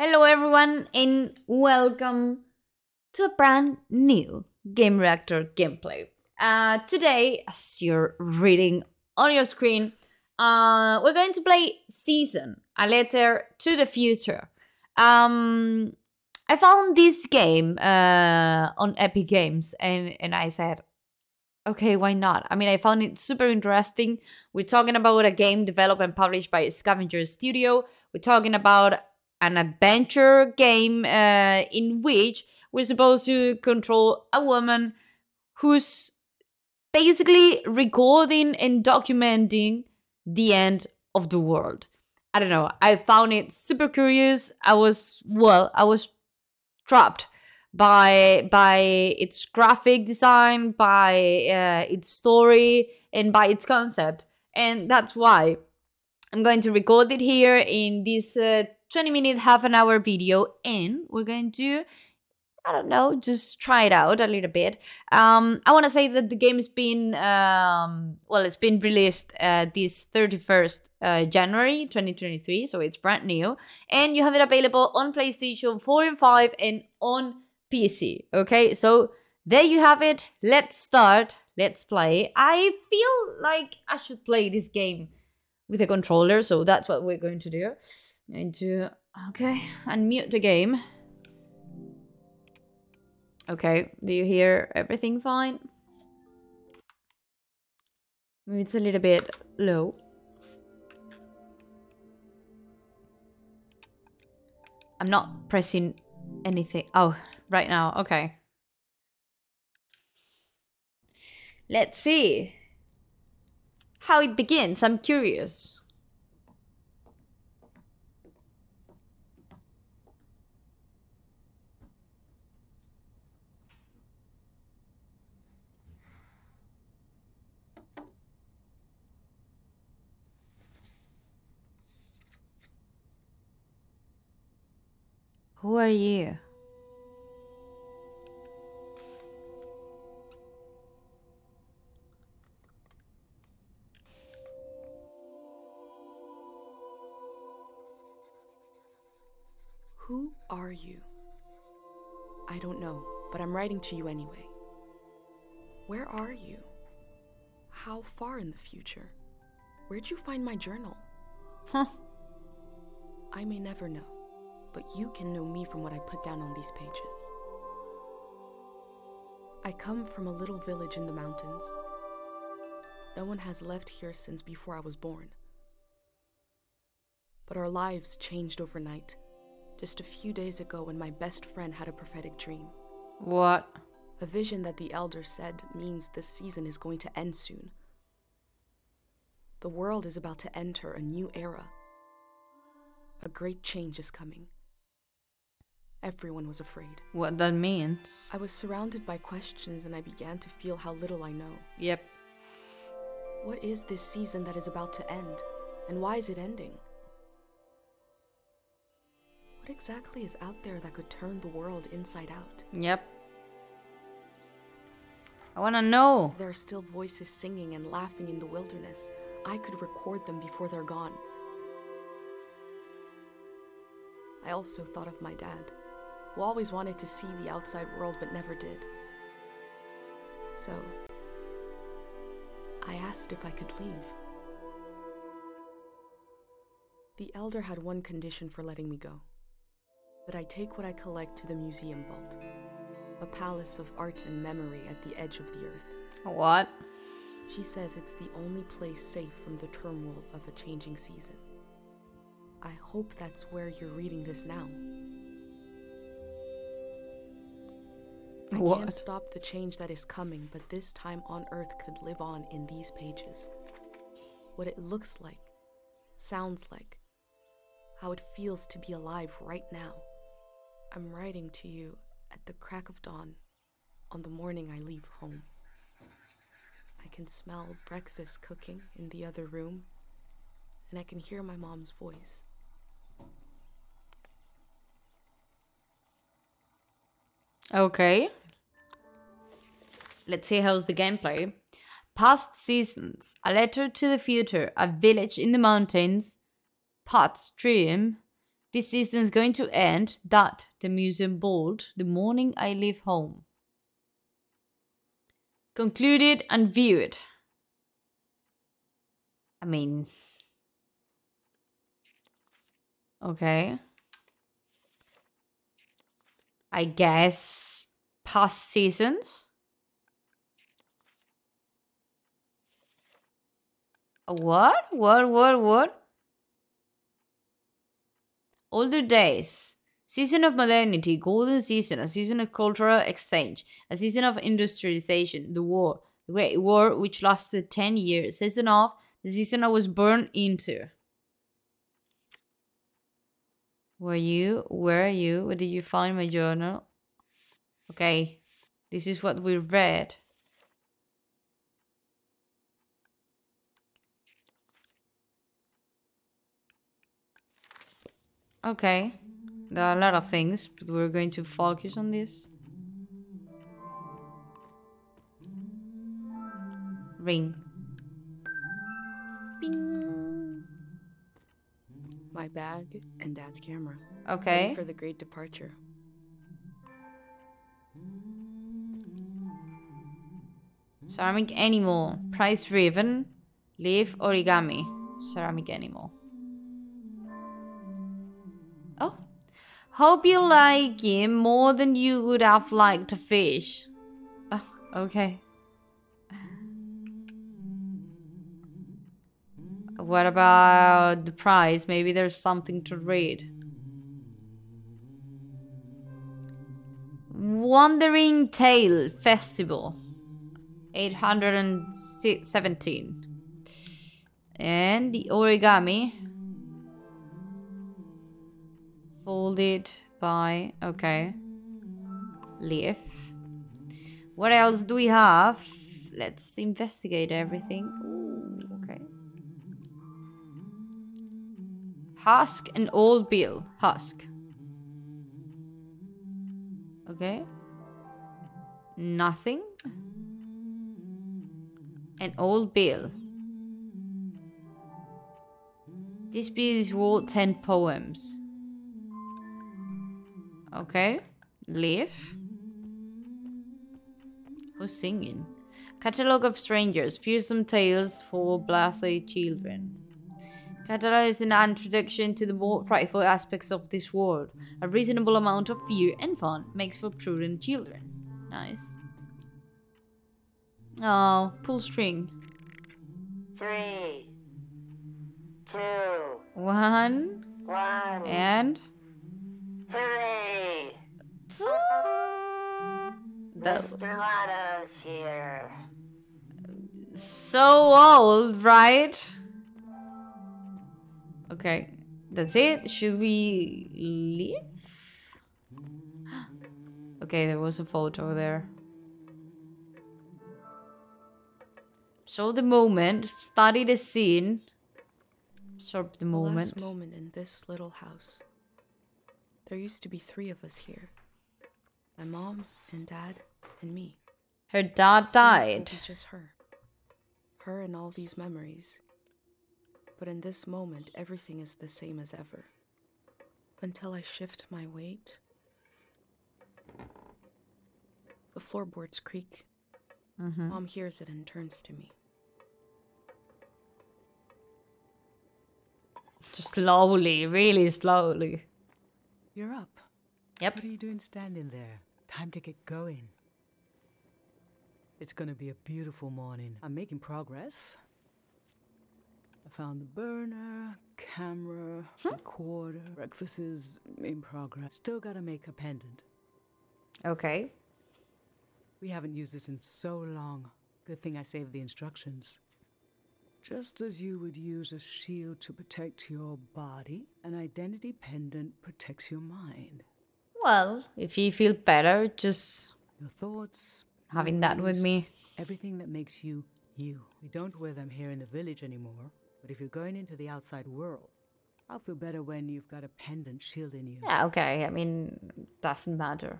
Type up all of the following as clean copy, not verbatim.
Hello, everyone, and welcome to a brand new Game Reactor gameplay. Today, as you're reading on your screen, we're going to play Season, a letter to the future. I found this game on Epic Games, and I said, okay, why not? I mean, I found it super interesting. We're talking about a game developed and published by Scavenger Studio. We're talking about an adventure game in which we're supposed to control a woman who's basically recording and documenting the end of the world. I don't know. I found it super curious. I was trapped by its graphic design, by its story, and by its concept. And that's why I'm going to record it here in this 20-minute, half an hour video, and we're going to, I don't know, just try it out a little bit. I want to say that the game's been, it's been released this 31st January 2023, so it's brand new. And you have it available on PlayStation 4 and 5 and on PC, okay? So there you have it. Let's start. Let's play. I feel like I should play this game with a controller, so that's what we're going to do. Going to, okay, unmute the game. Okay, do you hear everything fine? Maybe it's a little bit low. I'm not pressing anything. Oh, right now, okay. Let's see how it begins. I'm curious. Who are you? Who are you? I don't know, but I'm writing to you anyway. Where are you? How far in the future? Where'd you find my journal? Huh. I may never know, but you can know me from what I put down on these pages. I come from a little village in the mountains. No one has left here since before I was born. But our lives changed overnight. Just a few days ago when my best friend had a prophetic dream. What? A vision that the elder said means this season is going to end soon. The world is about to enter a new era. A great change is coming. Everyone was afraid. What that means? I was surrounded by questions and I began to feel how little I know. Yep. What is this season that is about to end? And why is it ending? What exactly is out there that could turn the world inside out? Yep. I wanna know. There are still voices singing and laughing in the wilderness. I could record them before they're gone. I also thought of my dad, who always wanted to see the outside world but never did. So, I asked if I could leave. The elder had one condition for letting me go. That I take what I collect to the museum vault, a palace of art and memory at the edge of the earth. What? She says it's the only place safe from the turmoil of a changing season. I hope that's where you're reading this now. I can't stop the change that is coming, but this time on Earth could live on in these pages. What it looks like, sounds like, how it feels to be alive right now. I'm writing to you at the crack of dawn on the morning I leave home. I can smell breakfast cooking in the other room, and I can hear my mom's voice. Okay. Let's see how's the gameplay. Past seasons, a letter to the future, a village in the mountains, Pot's dream, This season is going to end. That the museum bold. The morning I leave home. Concluded and viewed. I mean, okay. I guess past seasons. What? What? Older days. Season of modernity, golden season, a season of cultural exchange, a season of industrialization, the war, the Great War, which lasted 10 years. Season of the season I was born into. Where are you? Where did you find my journal? Okay, this is what we read. Okay, there are a lot of things, but we're going to focus on this. Ring. Bing. My bag and Dad's camera. Okay. Ready for the great departure. Ceramic animal. Price driven. Leaf origami. Ceramic animal. Oh. Hope you like him more than you would have liked a fish. Oh, okay. What about the price? Maybe there's something to read. Wandering Tale Festival. 817. And the origami. Folded by... Okay. Leaf. What else do we have? Let's investigate everything. Ooh, okay. Husk and old bill. Husk. Okay. Nothing. An old bill. This bill is worth 10 poems. Okay. Leaf. Who's singing? Catalogue of Strangers. Fearsome Tales for Blasé Children. Catalogue is an introduction to the more frightful aspects of this world. A reasonable amount of fear and fun makes for prudent children. Nice. Oh, pull string. 3, 2, 1. 1. And... Hooray! Mr. Lotto's here. So old, right? Okay, that's it. Should we leave? Okay, there was a photo there. So the moment, study the scene, absorb the moment. Last moment in this little house. There used to be 3 of us here. My mom and Dad and me. Her dad died. Soon it will be just her. Her and all these memories. But in this moment, everything is the same as ever. Until I shift my weight. The floorboards creak. Mom hears it and turns to me. Just slowly, really slowly. You're up. Yep. What are you doing standing there? Time to get going. It's gonna be a beautiful morning. I'm making progress. I found the burner, camera, recorder. Breakfast is in progress. Still gotta make a pendant. Okay. We haven't used this in so long. Good thing I saved the instructions. Just as you would use a shield to protect your body, an identity pendant protects your mind. Well, if you feel better, just Your thoughts, having that with me. everything that makes you, you. We don't wear them here in the village anymore, but if you're going into the outside world, I'll feel better when you've got a pendant shielding you. Yeah, okay. I mean, doesn't matter.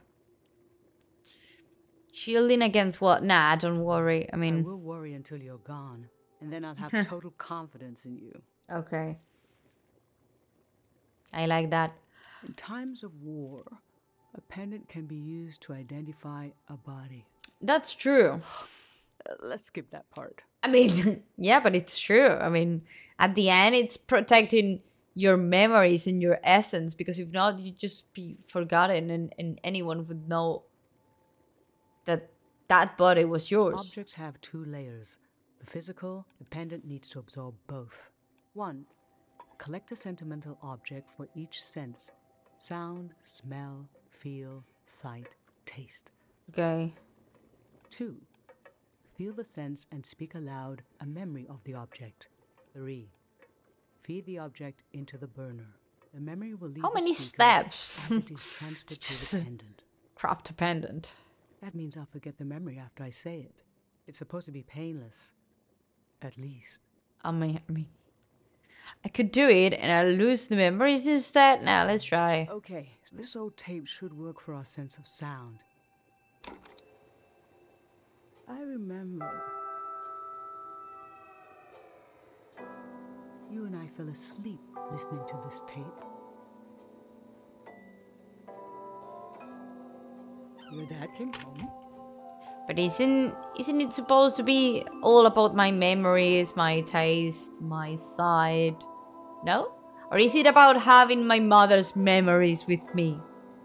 Shielding against what? Nah, don't worry. I I mean, will worry until you're gone, and then I'll have total confidence in you. okay. I like that. In times of war, a pendant can be used to identify a body. That's true. Let's skip that part. I mean, yeah, but it's true. I mean, at the end, it's protecting your memories and your essence, because if not, you'd just be forgotten, and anyone would know that that body was yours. Objects have two layers. The physical, the pendant needs to absorb both. 1. Collect a sentimental object for each sense: sound, smell, feel, sight, taste. Okay. 2. Feel the sense and speak aloud a memory of the object. 3. Feed the object into the burner. The memory will leave How the many speaker steps? as it is transferred to the pendant. Craft a pendant. That means I'll forget the memory after I say it. It's supposed to be painless. At least. I mean, I could do it and I'll lose the memories instead. Now, let's try. Okay, so this old tape should work for our sense of sound. I remember. You and I fell asleep listening to this tape. Your dad came home. But isn't it supposed to be all about my memories, my taste, my side? No? Or is it about having my mother's memories with me?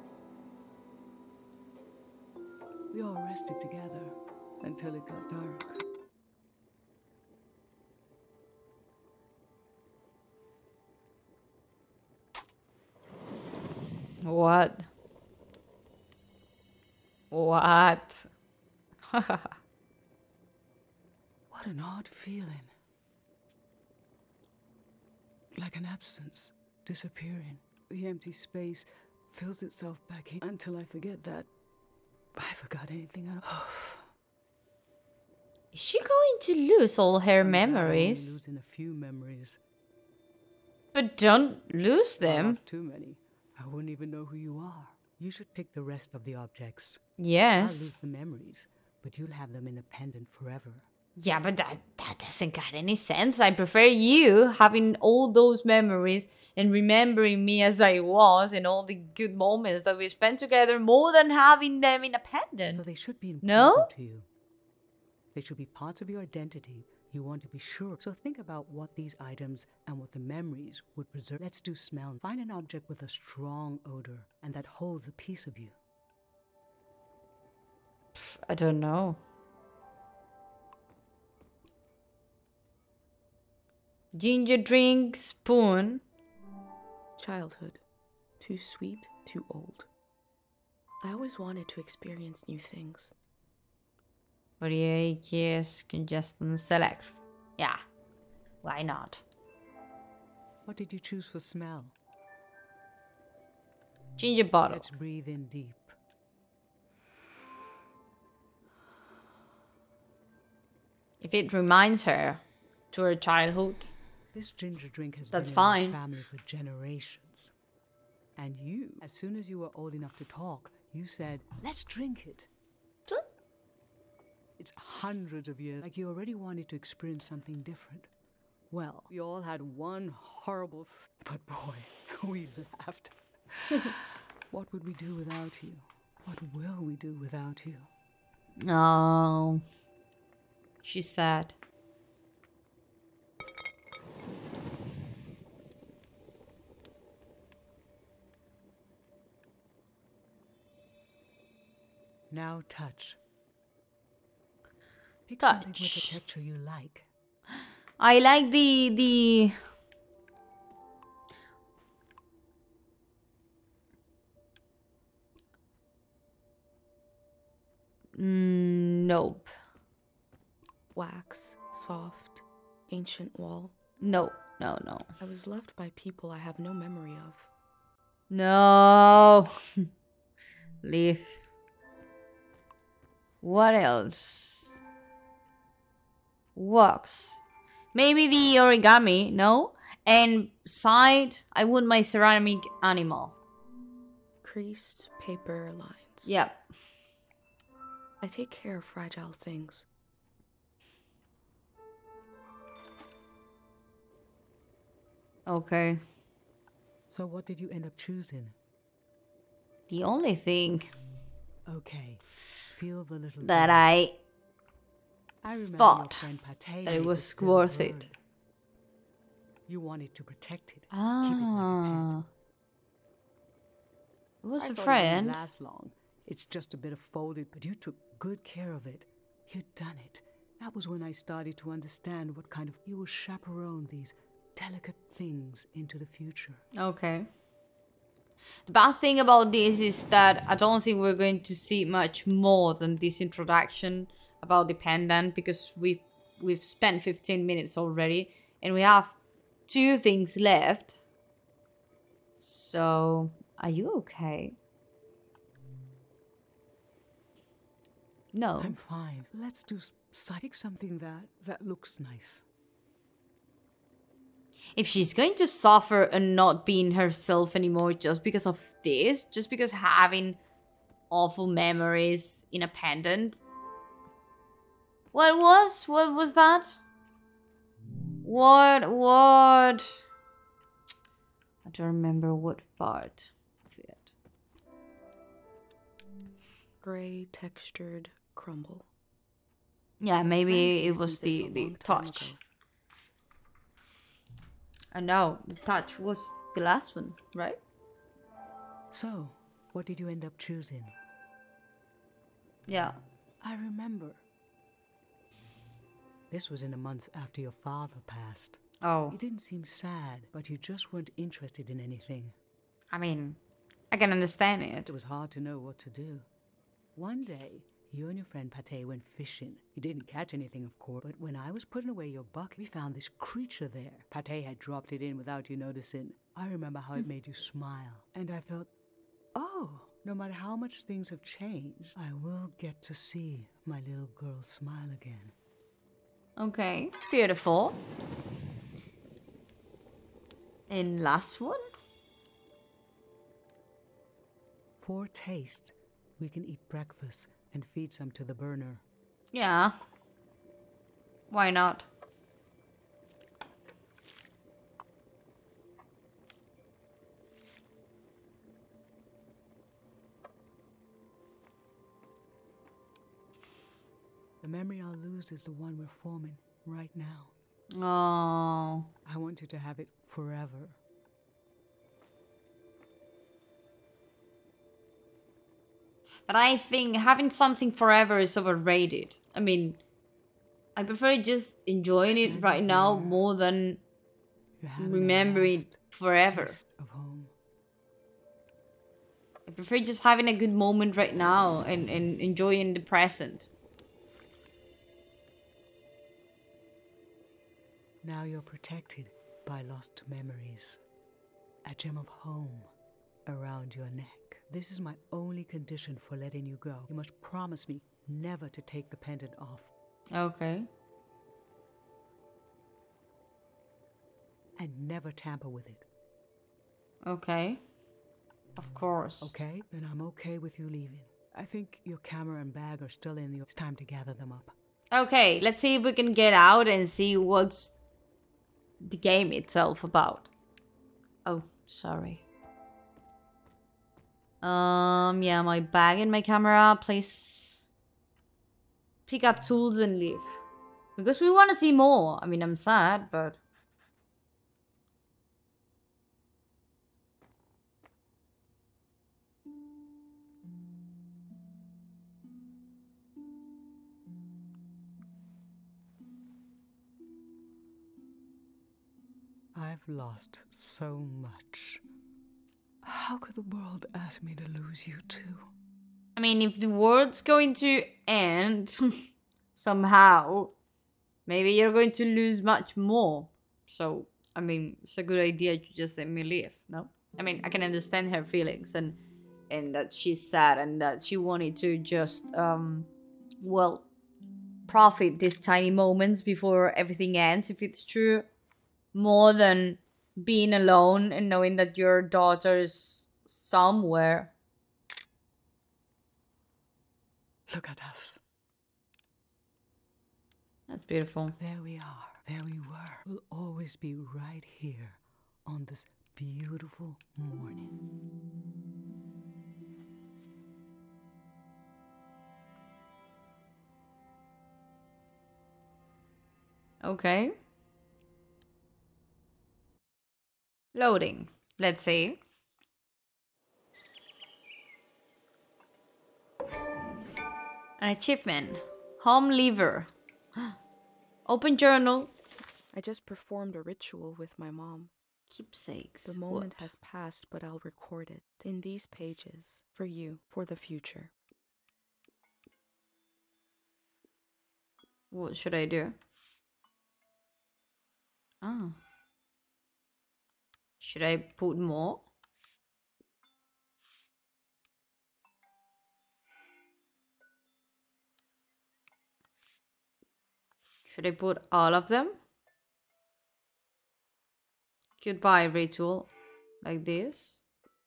We all rested together until it got dark. What? What? What an odd feeling. Like an absence, disappearing. The empty space fills itself back in until I forget that I forgot anything else. Is she going to lose all her I'm only memories? losing a few memories. But don't lose If I them. lost too many, I wouldn't even know who you are. You should pick the rest of the objects. I'll lose Yes. the memories, but you'll have them in a pendant forever. Yeah, but that doesn't got any sense. I prefer you having all those memories and remembering me as I was and all the good moments that we spent together more than having them in a So pendant. they should be important No? to you. They should be parts of your identity. You want to be sure. So think about what these items and what the memories would preserve. Let's do smell. Find an object with a strong odor and that holds a piece of you. I don't know. Ginger drink spoon. Childhood. Too sweet, too old. I always wanted to experience new things. Variate, yes, congestion, select. Yeah, why not? What did you choose for smell? Ginger bottle. Let's breathe in deep. If it reminds her to her childhood. This ginger drink has That's been in fine. our family for generations. And you, as soon as you were old enough to talk, you said, let's drink it. It's hundreds of years, like you already wanted to experience something different. Well, we all had one horrible, but boy, we laughed. What would we do without you? What will we do without you? Oh, she's sad. Now touch. Pick something with a Touch. texture you like. I like the nope. Wax, soft, ancient wall. No. I was loved by people I have no memory of. No. Leave. What else? Wax. Maybe the origami, no? And side, I want my ceramic animal. Creased paper lines. Yep. I take care of fragile things. Okay. So what did you end up choosing? The only thing Okay, feel the little that bell. I remember thought your friend Pate that it made was this little worth bird. it. You wanted to protect it, keep it like a Ah, it was pet. a I thought it friend. wouldn't last long. It's just a bit of folded, but you took good care of it. You'd done it. That was when I started to understand what kind of you will chaperone these delicate things into the future. Okay. The bad thing about this is that I don't think we're going to see much more than this introduction about the pendant, because we've spent 15 minutes already and we have 2 things left. So, are you okay? No. I'm fine. Let's do pick something that looks nice. If she's going to suffer and not being herself anymore just because of this, just because having awful memories in a pendant. What was that? What? I don't remember what part of it. Gray textured crumble. Yeah, maybe it was This a the long time touch. ago. No, the touch was the last one, right? So, what did you end up choosing? Yeah. I remember. This was in the months after your father passed. Oh, You didn't seem sad, but you just weren't interested in anything. I mean, I can understand it. It was hard to know what to do. One day, you and your friend Pate went fishing. You didn't catch anything, of course, but when I was putting away your bucket, we found this creature there. Pate had dropped it in without you noticing. I remember how it made you smile. And I felt, oh, no matter how much things have changed, I will get to see my little girl smile again. Okay, beautiful. And last one? For taste, we can eat breakfast and feed some to the burner. Yeah. Why not? The memory I'll lose is the one we're forming right now. Oh. I want you to have it forever. But I think having something forever is overrated. I mean, I prefer just enjoying it right now more than You're having a remembering last forever. taste of home. I prefer just having a good moment right now and enjoying the present. Now you're protected by lost memories. A gem of home around your neck. This is my only condition for letting you go. You must promise me never to take the pendant off. Okay. And never tamper with it. Okay. Of course. Okay? Then I'm okay with you leaving. I think your camera and bag are still in the... It's time to gather them up. Okay, let's see if we can get out and see what's the game itself about. Oh, sorry. Yeah, my bag and my camera. Please pick up tools and leave. Because we want to see more. I mean, I'm sad, but... I've lost so much. How could the world ask me to lose you too? I mean, if the world's going to end somehow, maybe you're going to lose much more. So, I mean, it's a good idea to just let me leave, no? I mean, I can understand her feelings and that she's sad and that she wanted to just, well, profit these tiny moments before everything ends, if it's true, more than being alone and knowing that your daughter's somewhere. Look at us. That's beautiful. There we are. There we were. We'll always be right here on this beautiful morning. Okay. Loading. Let's see. An achievement. Home lever. Open journal. I just performed a ritual with my mom. Keepsakes. The moment What? has passed, but I'll record it in these pages for you, for the future. What should I do? Oh. Should I put more? Should I put all of them? Goodbye ritual. Like this.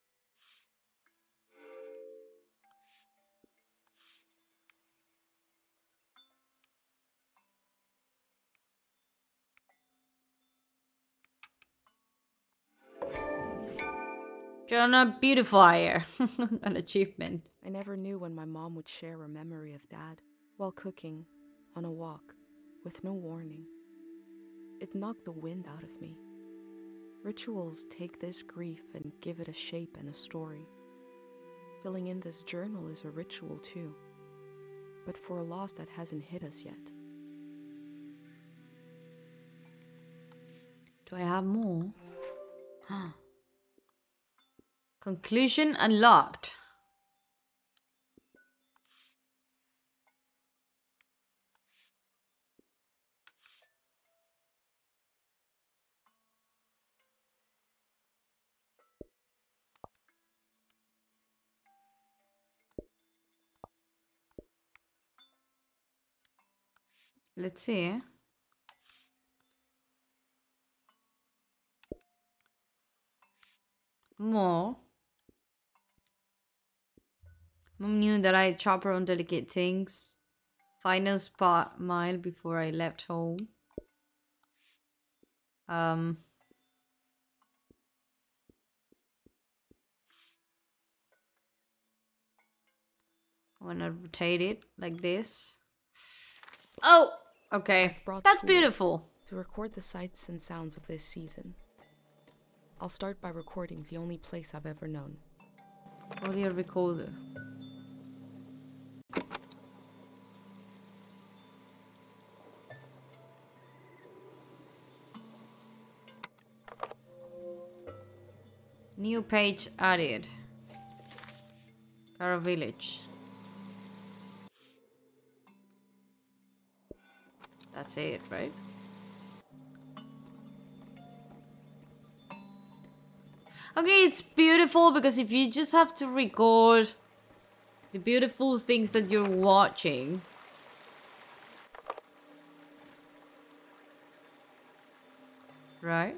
Journal beautifier. An achievement. I never knew when my mom would share a memory of Dad while cooking, on a walk, with no warning. It knocked the wind out of me. Rituals take this grief and give it a shape and a story. Filling in this journal is a ritual too, but for a loss that hasn't hit us yet. Do I have more? Conclusion unlocked. Let's see. More. Mom knew that I chop her on delicate things. Final spot mile before I left home. I wanna rotate it like this. Oh, okay. Brought That's tools beautiful. to record the sights and sounds of this season. I'll start by recording the only place I've ever known. Audio recorder. New page added. Cara Village. That's it, right? Okay, it's beautiful because if you just have to record the beautiful things that you're watching. Right?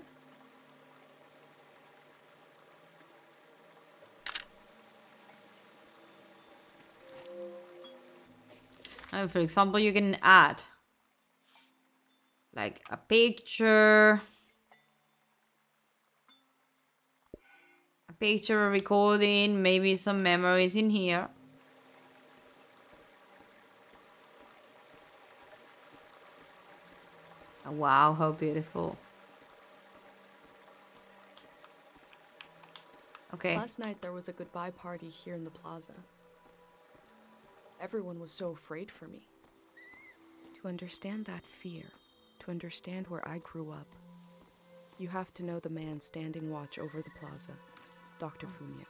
And for example, you can add like a picture, a recording, maybe some memories in here. Oh, wow, how beautiful. Okay. Last night there was a goodbye party here in the plaza. Everyone was so afraid for me. To understand that fear, to understand where I grew up, you have to know the man standing watch over the plaza, Dr. Fumio.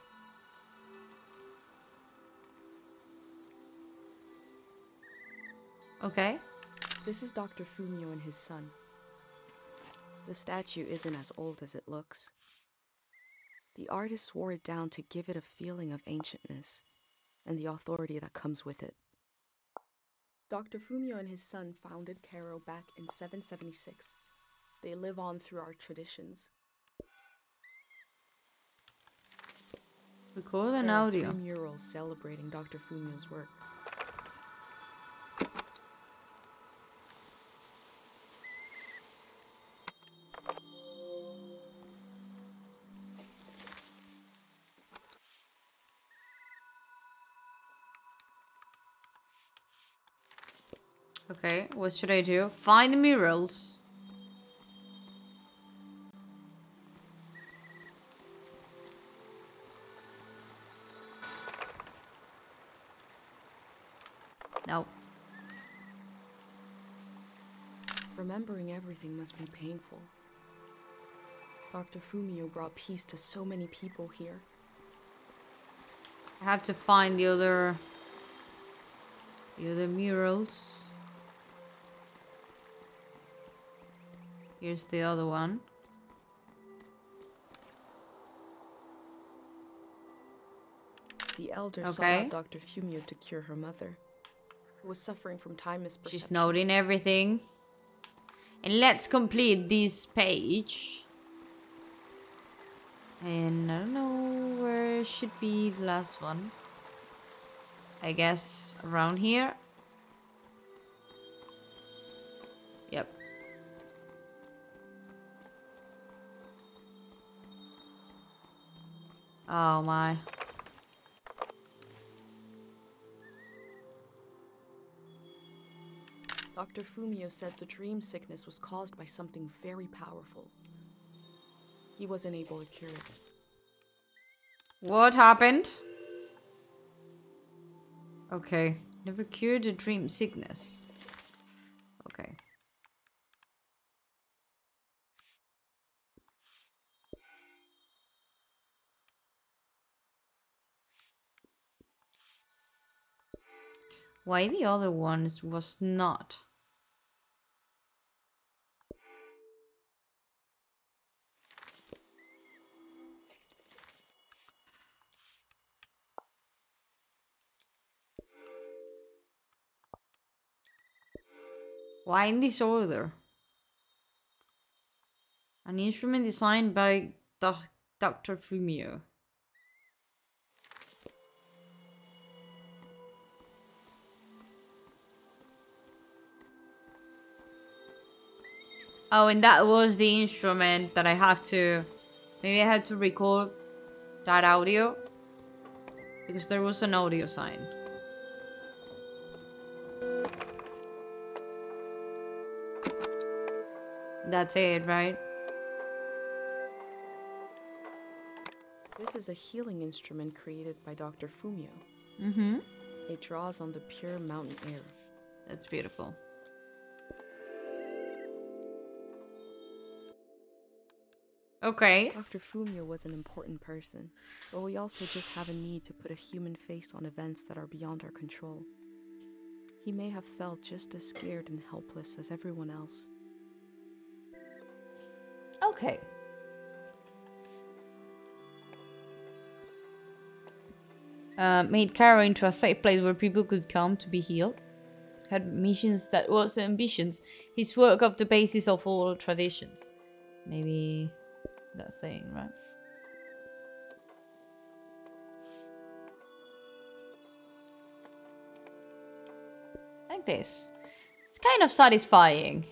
Okay. This is Dr. Fumio and his son. The statue isn't as old as it looks. The artist wore it down to give it a feeling of ancientness and the authority that comes with it. Dr. Fumio and his son founded Cairo back in 776. They live on through our traditions. Record an There are audio. 3 murals celebrating Dr. Fumio's work. Okay, what should I do? Find the murals. No. Remembering everything must be painful. Dr. Fumio brought peace to so many people here. I have to find the other murals. Here's the other one. The elder sought out Dr. Fumio to cure her mother, who was suffering from time misperception. She's noting everything. And let's complete this page. And I don't know where should be the last one. I guess around here. Yep. Oh my. Dr. Fumio said the dream sickness was caused by something very powerful. He wasn't able to cure it. What happened? Okay. Never cured the dream sickness. Okay. Why the other ones was not? Why in this order? An instrument designed by Dr. Fumio. Oh, and that was the instrument that I have to... Maybe I had to record that audio. Because there was an audio sign. That's it, right? This is a healing instrument created by Dr. Fumio. Mm-hmm. It draws on the pure mountain air. That's beautiful. Okay. Dr. Fumio was an important person, but we also just have a need to put a human face on events that are beyond our control. He may have felt just as scared and helpless as everyone else. Okay. Made Cairo into a safe place where people could come to be healed. Had missions that was ambitions. His work of the basis of all traditions. Maybe that's saying, right? Like this. It's kind of satisfying.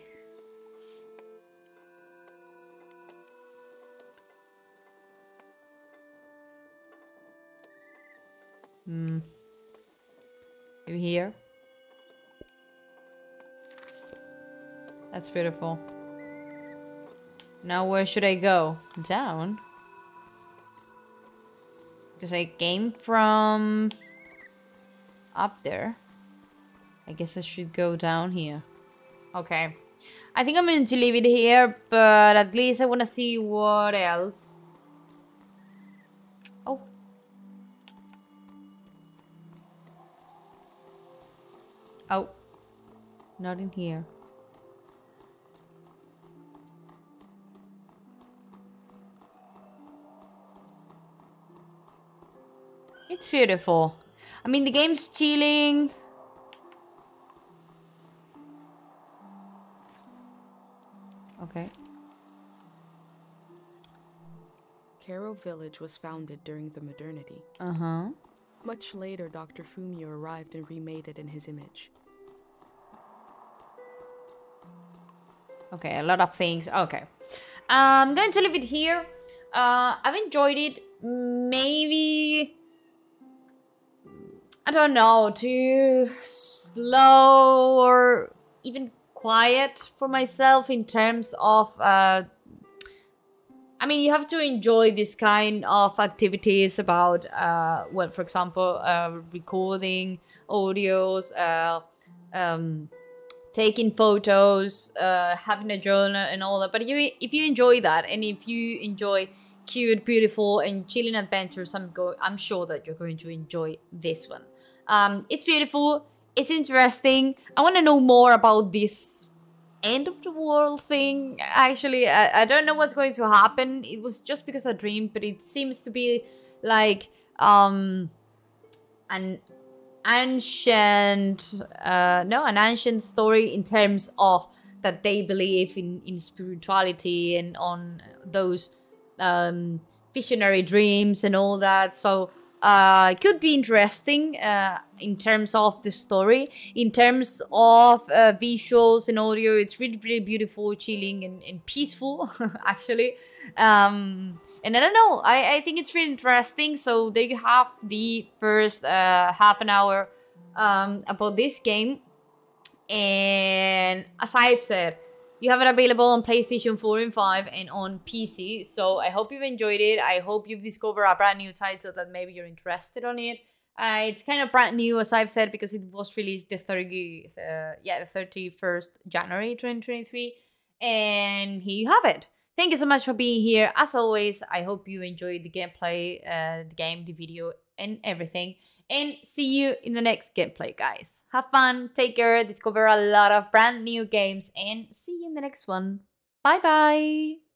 Maybe here. That's beautiful. Now where should I go? Down? Because I came from up there. I guess I should go down here. Okay. I think I'm going to leave it here, but at least I want to see what else. Oh. Oh. Not in here. It's beautiful. I mean, the game's chilling. Okay. Cairo Village was founded during the modernity. Uh-huh. Much later, Dr. Fumio arrived and remade it in his image. Okay, a lot of things. Okay. I'm going to leave it here. I've enjoyed it. Maybe... I don't know, too slow or even quiet for myself in terms of... I mean, you have to enjoy this kind of activities about, well, for example, recording audios, taking photos, having a journal and all that. But if you enjoy that, and if you enjoy cute, beautiful, and chilling adventures, I'm sure that you're going to enjoy this one. It's beautiful. It's interesting. I want to know more about this end of the world thing. Actually, I don't know what's going to happen. It was just because I dreamed, but it seems to be like an ancient an ancient story in terms of that they believe in spirituality and on those visionary dreams and all that. So it could be interesting in terms of the story. In terms of visuals and audio, it's really, really beautiful, chilling, and peaceful, actually. And I don't know, I think it's really interesting. So there you have the first half an hour about this game. And as I've said, you have it available on PlayStation 4 and 5 and on PC. So I hope you've enjoyed it. I hope you've discovered a brand new title that maybe you're interested on it. It's kind of brand new, as I've said, because it was released the 31st January 2023. And here you have it. Thank you so much for being here. As always, I hope you enjoyed the gameplay, the game, the video, and everything. And see you in the next gameplay, guys. Have fun, take care, discover a lot of brand new games, and see you in the next one. Bye-bye!